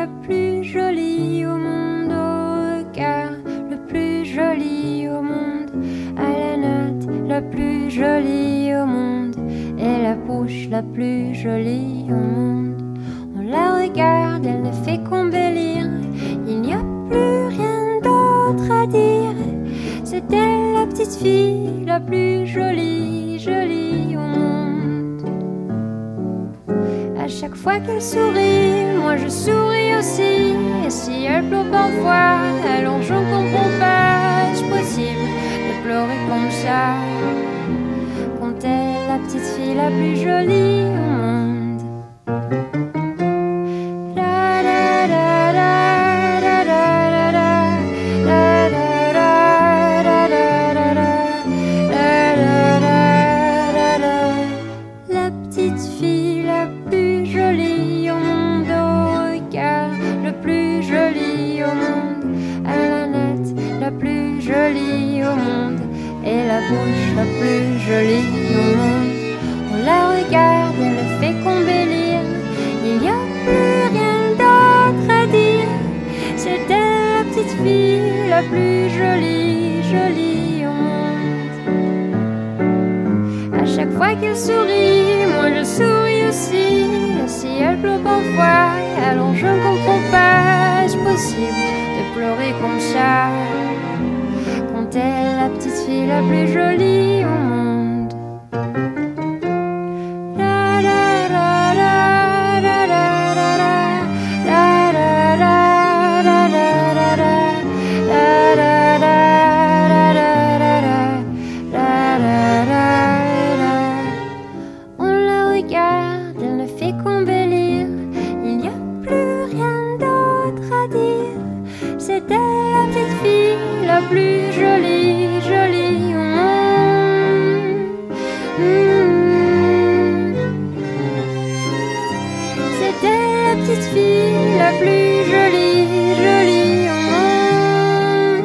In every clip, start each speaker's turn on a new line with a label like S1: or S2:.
S1: la plus jolie au monde, au regard le plus joli au monde, à la natte la plus jolie au monde, et la bouche la plus jolie au monde. On la regarde, elle ne fait qu'embellir, il n'y a plus rien d'autre à dire. C'est elle la petite fille la plus jolie, jolie au monde. À chaque fois qu'elle sourit, moi je souris aussi. Et si elle pleure parfois, alors je ne comprends pas. Est-ce possible de pleurer comme ça quand elle est la petite fille la plus jolie au monde? La plus jolie au monde. On la regarde, elle ne fait qu'embellir, il n'y a plus rien d'autre à dire. C'est elle la petite fille la plus jolie, jolie au monde. À chaque fois qu'elle sourit, moi je souris aussi. Et si elle pleure parfois, alors je ne comprends pas. Est-ce possible de pleurer comme ça quand elle est la petite fille la plus jolie au monde? On la regarde, elle ne fait qu'embellir, il n'y a plus rien d'autre à dire. C'est elle la petite fille la plus jolie, jolie au monde. C'est elle la petite fille la plus jolie, jolie au monde.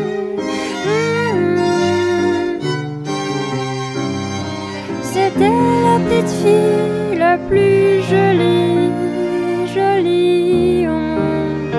S1: C'est elle la petite fille la plus jolie, jolie au monde.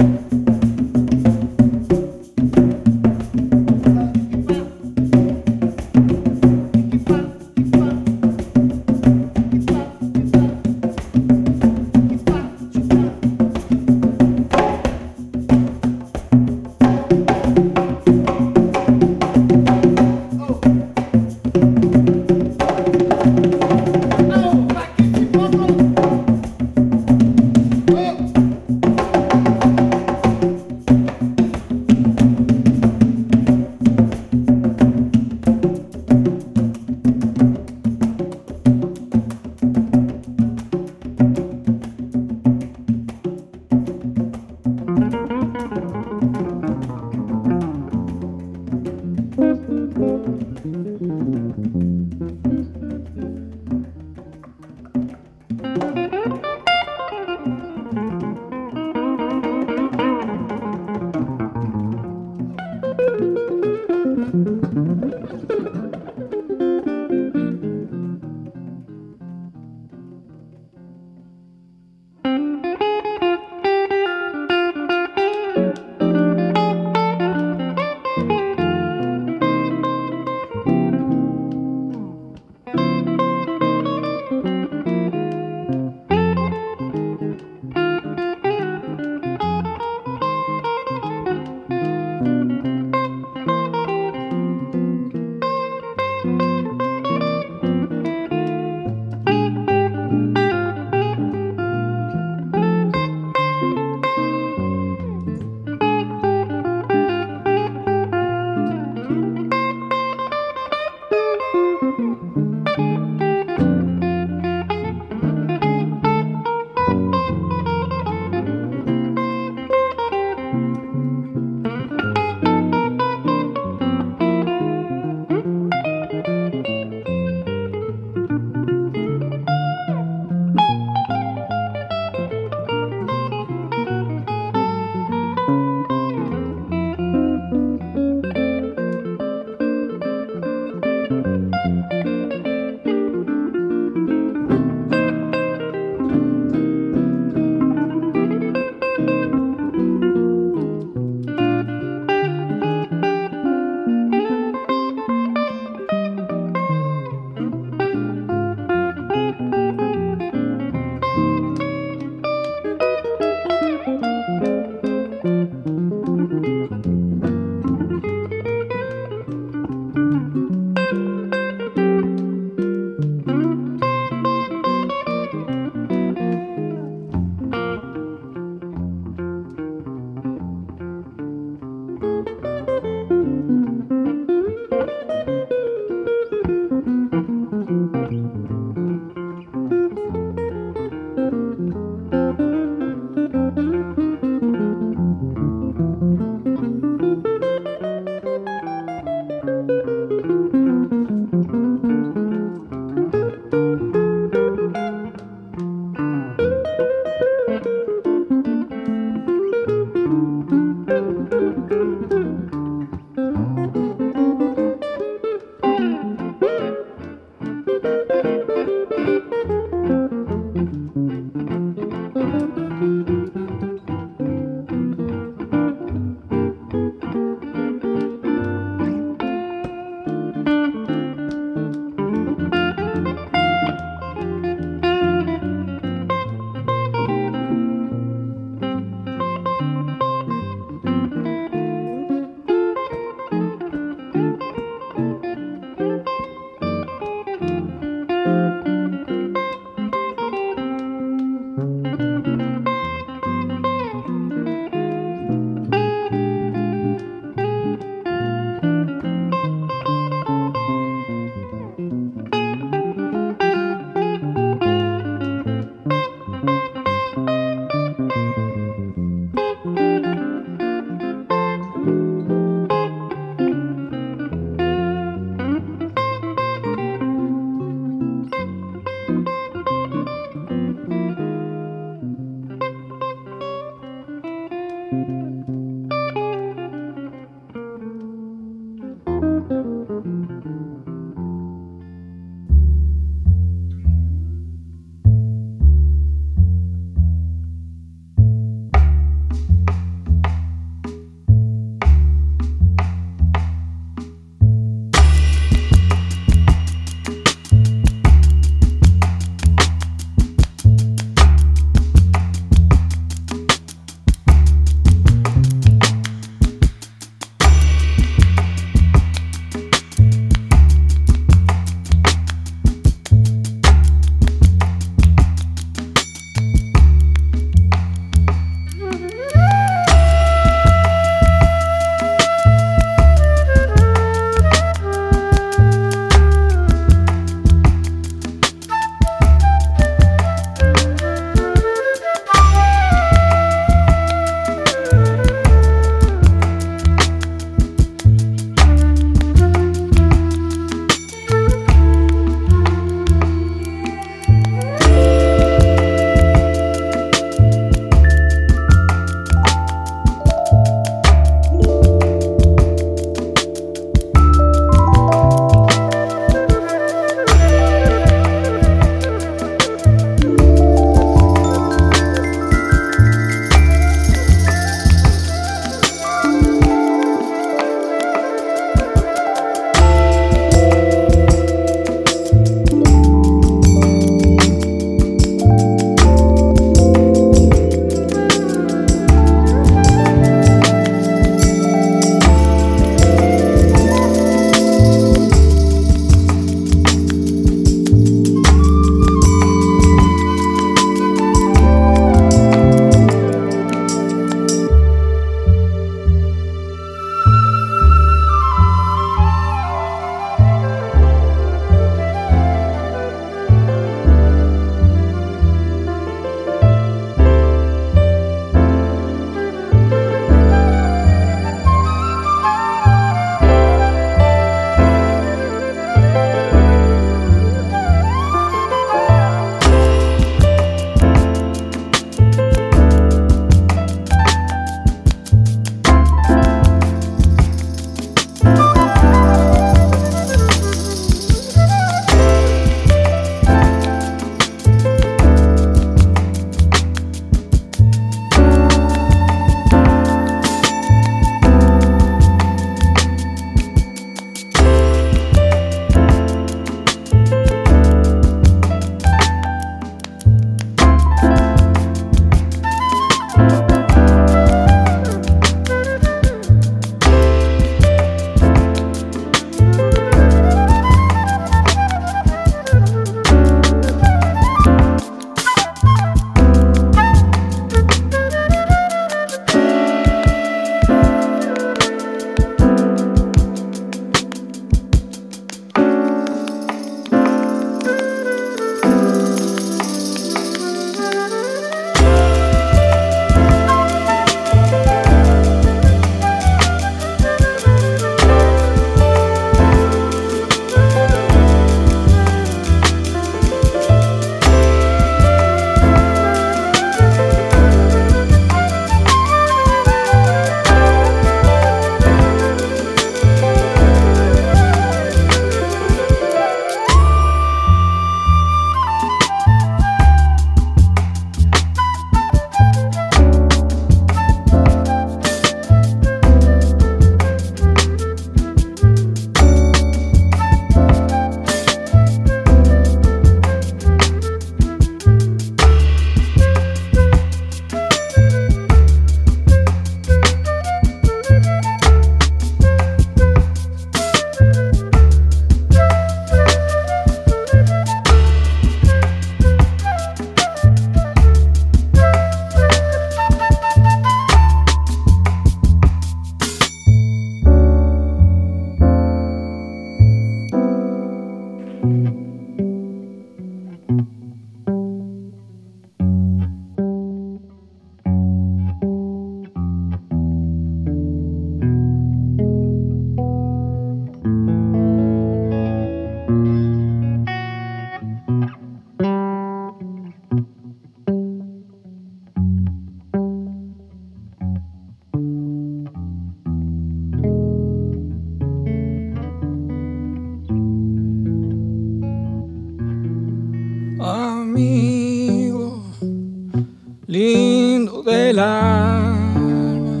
S2: lindo del alma,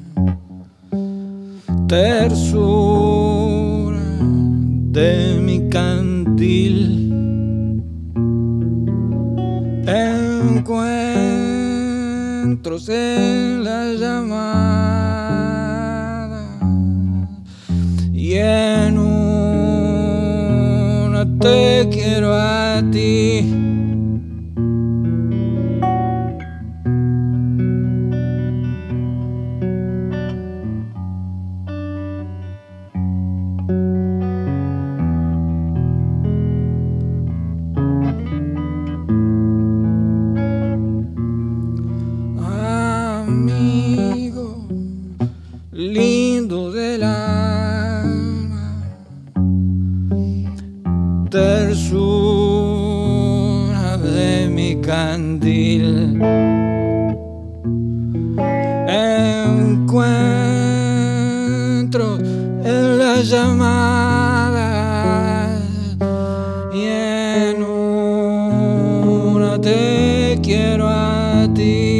S2: tersura de mi candil, encuentros en la llamada y en una te quiero a ti. Amigo lindo del alma, tersura de mi candil, encuentro en la llamada y en una te quiero a ti.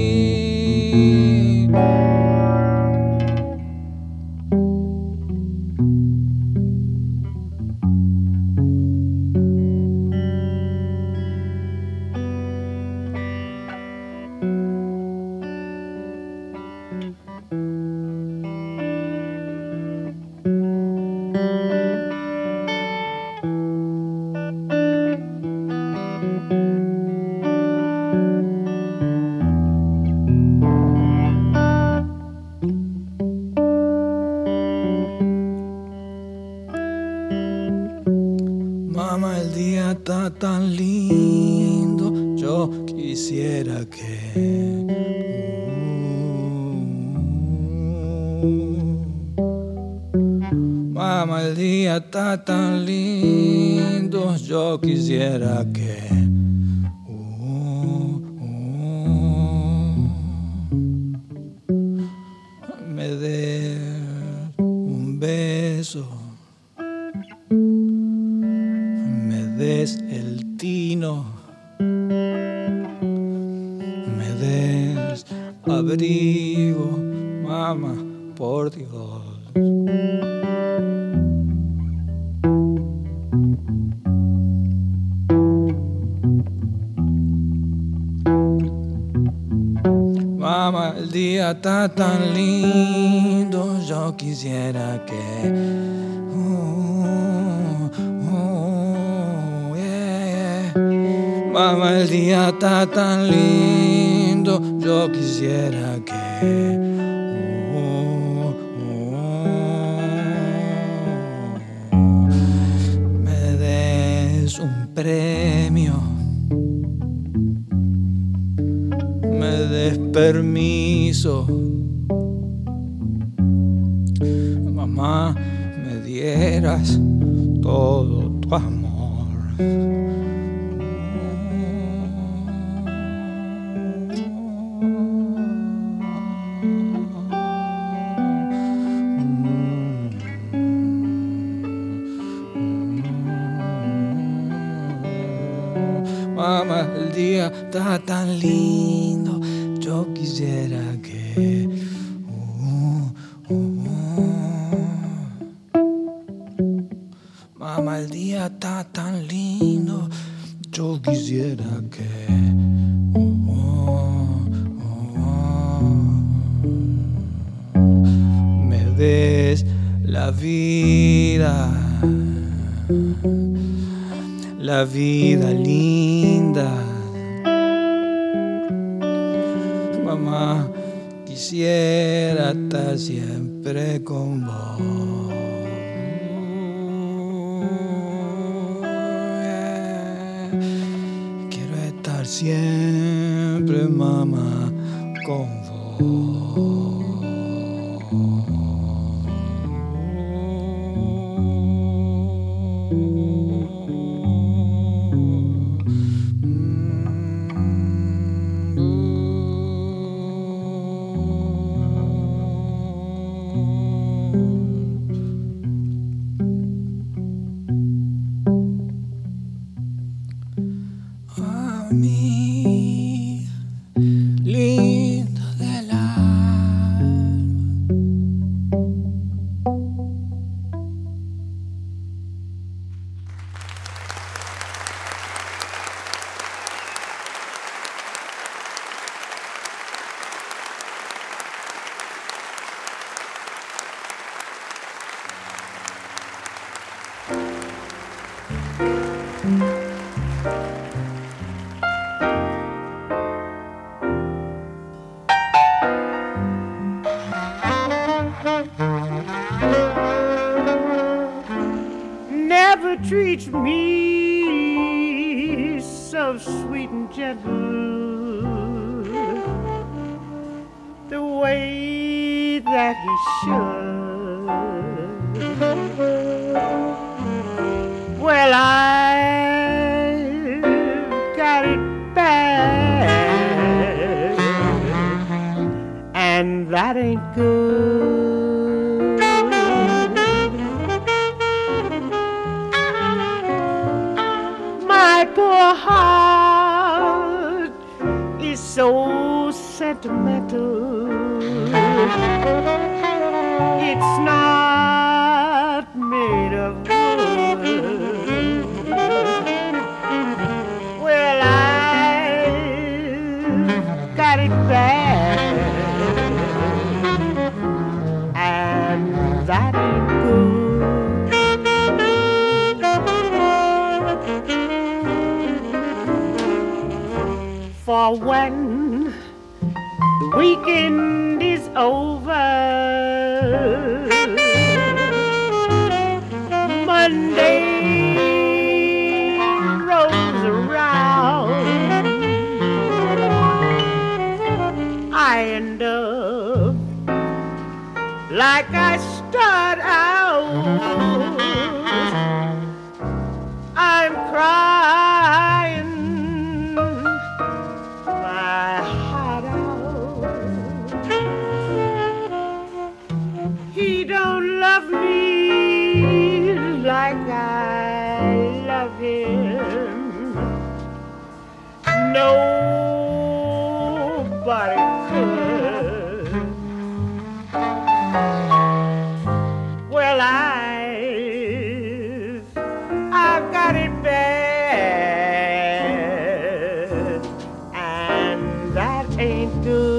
S2: Mamá, el día está tan lindo, yo quisiera que Mamá, el día está tan lindo, yo quisiera que me des un beso, me des el tino, me des abrigo, mamá, por Dios. Mamá, el día está tan lindo, yo quisiera que yeah. Mamá, el día está tan lindo, yo quisiera que me des un premio, me des permiso, mamá, me dieras todo tu amor. Mamá, el día está tan lindo, yo quisiera que Mamá, el día está tan lindo, yo quisiera que me des la vida linda. Mamá, quisiera estar siempre con vos. Quiero estar siempre, mamá, con vos. A mí
S3: me so sweet and gentle, the way that he should. Well, I've got it bad, and that ain't good. My poor heart is so sentimental. It's not made of wood. Well, I've got it bad, and that ain't good. For when the weekend is over, Monday rolls around, I end up like I start out. I'm crying my heart out. He don't love me like I love him. Nobody could. Well, I've got it bad, and that ain't good.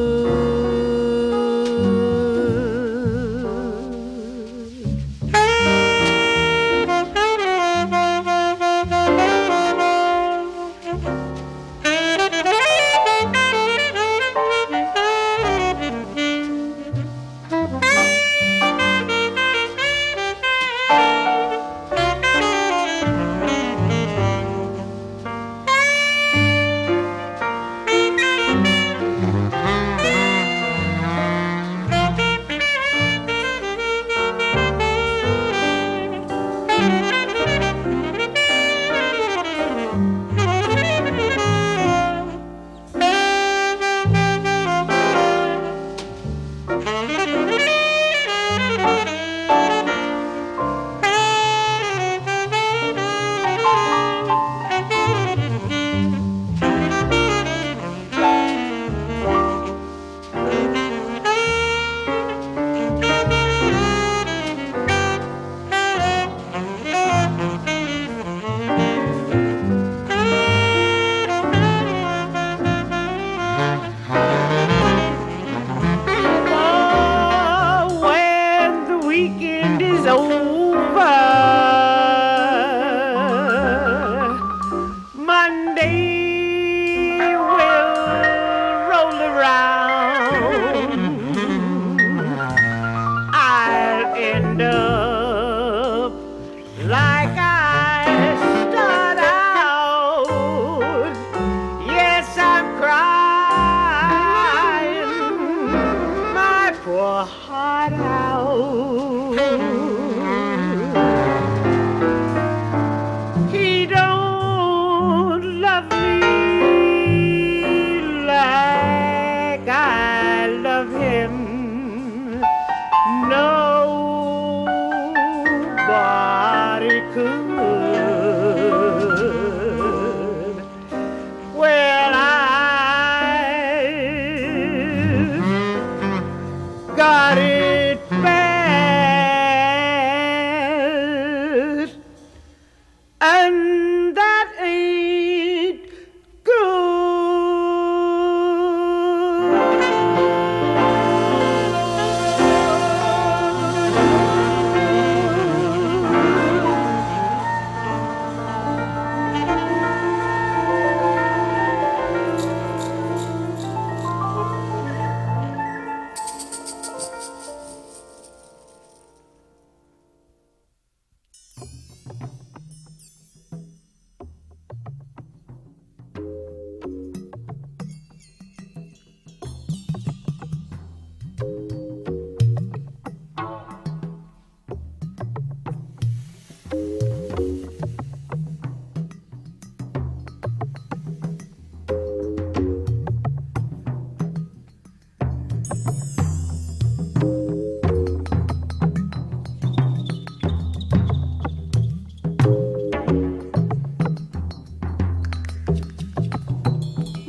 S3: Got it bad.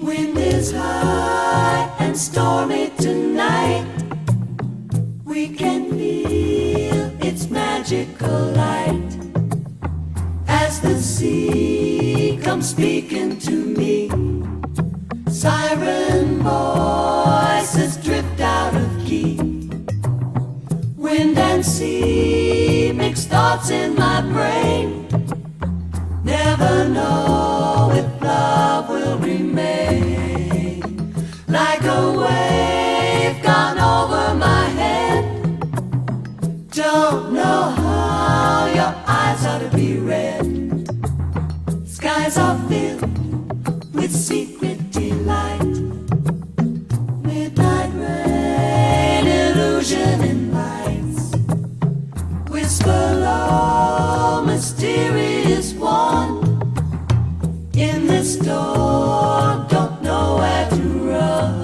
S4: Wind is high and stormy tonight. We can feel its magical light as the sea comes speaking to me. Siren voices drift out of key. Wind and sea mix thoughts in my brain. Never know if love will remain. Like a wave gone over my head. Don't know how your eyes ought to be red. Skies are filled with secret delight. Midnight rain, illusion in lights. Whisper low, mysterious one. In this storm, don't know where to run.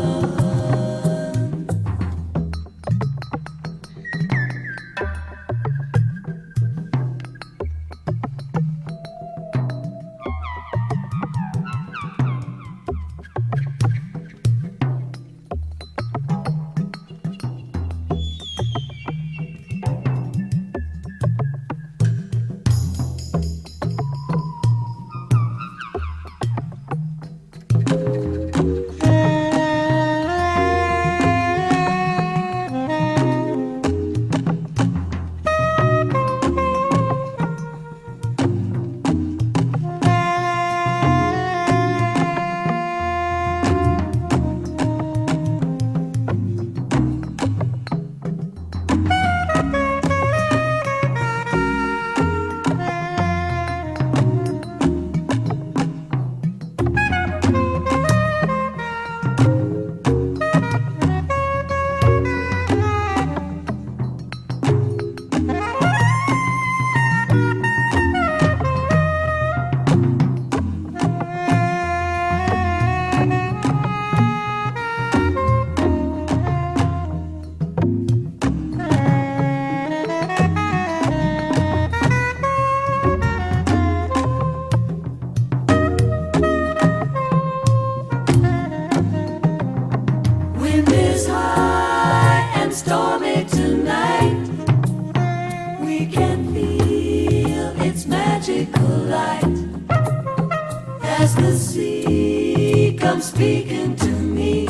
S4: Speaking to me,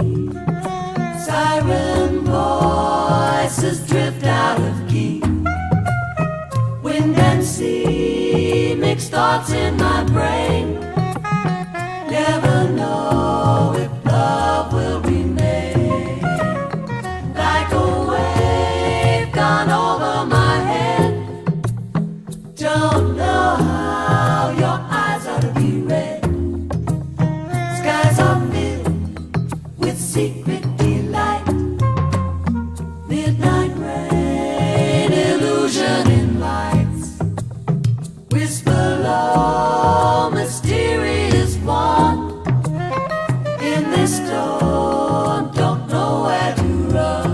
S4: siren voices drift out of key. Wind and sea mix thoughts in my brain. Never know if love will remain. Like a wave gone over my head. Don't know how your eyes ought to be red. Skies are filled with secret delight. Midnight rain, illusion in lights. Whisper low, mysterious one. In this storm, don't know where to run.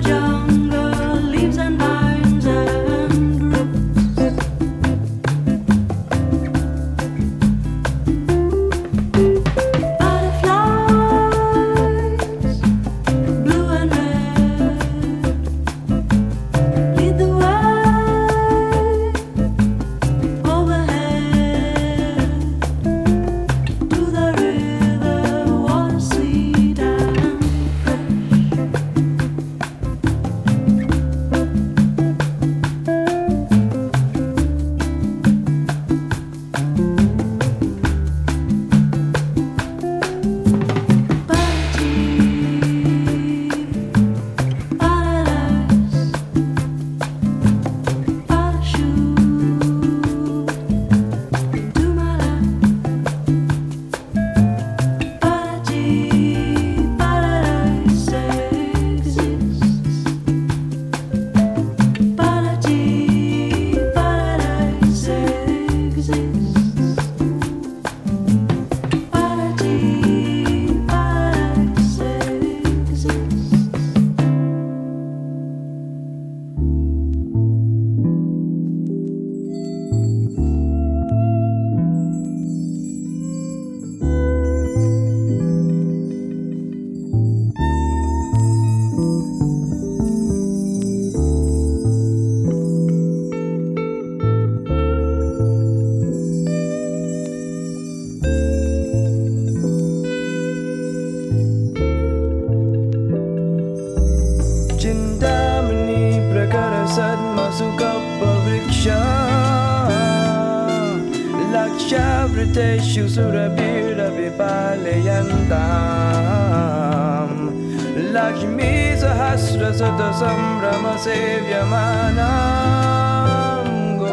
S2: Lakshavriteshu surabhira vipalayantam Lakshmi sahasra sata sambrama sevyamanam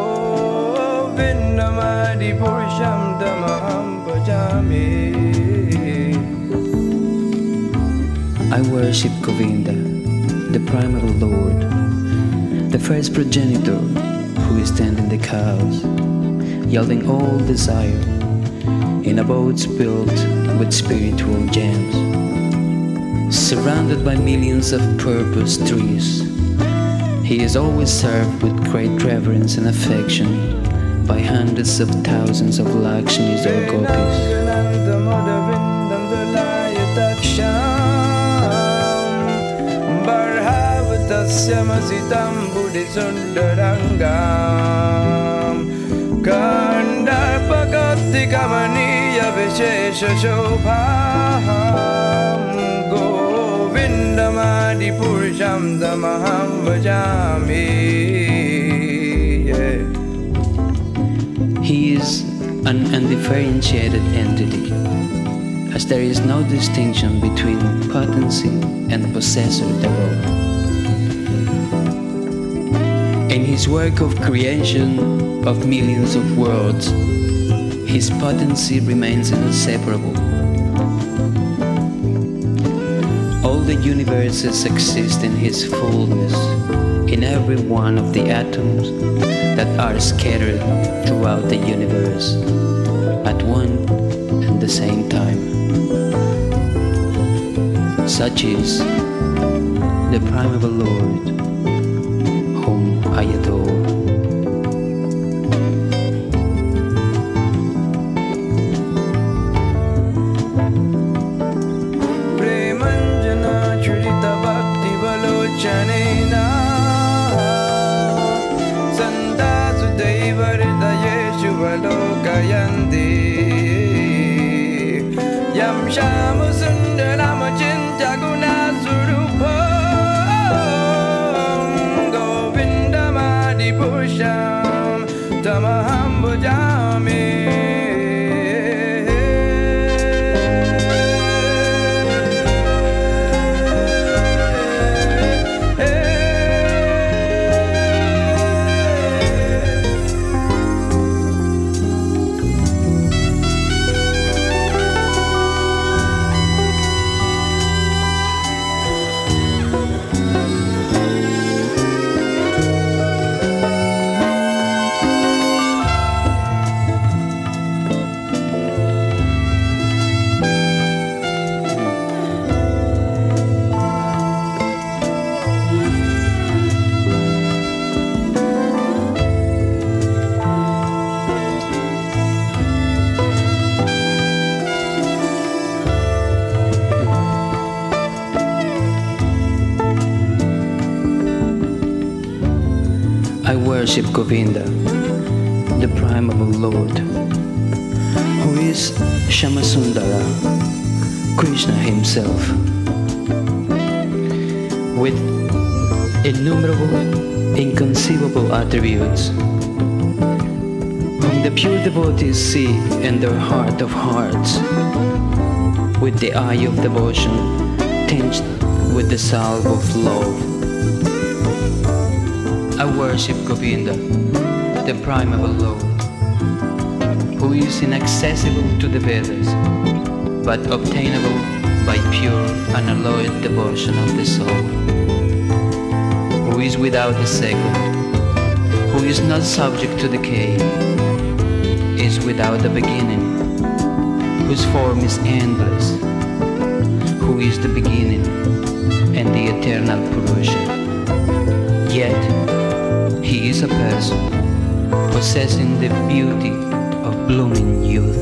S2: Govindamadi purusham tamaham bhajami.
S5: I worship Govinda, the primal Lord, the first progenitor who is tending the cows, yielding all desire in abodes built with spiritual gems. Surrounded by millions of purpose trees, he is always served with great reverence and affection by hundreds of thousands of Lakshmis or Gopis.
S2: Kandarpagati kamaniya vishesha shobham Govindamadi purusham tamaham bhajami.
S5: He is an undifferentiated entity, as there is no distinction between potency and possessor thereof. In his work of creation of millions of worlds, his potency remains inseparable. All the universes exist in his fullness, in every one of the atoms that are scattered throughout the universe at one and the same time. Such is the primeval Lord, whom I adore.
S2: Yam Shama Sundarama Chinta Guna Surupam Govindamadi Purusham Tamaham Bhajami.
S5: I worship Govinda, the primeval Lord, who is Shyamasundara, Krishna himself, with innumerable, inconceivable attributes, whom the pure devotees see in their heart of hearts, with the eye of devotion tinged with the salve of love. I worship Govinda, the primeval Lord, who is inaccessible to the Vedas, but obtainable by pure, unalloyed devotion of the soul, who is without a second, who is not subject to decay, is without a beginning, whose form is endless, who is the beginning and the eternal Purusha. Yet, he is a person possessing the beauty of blooming youth.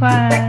S6: wine.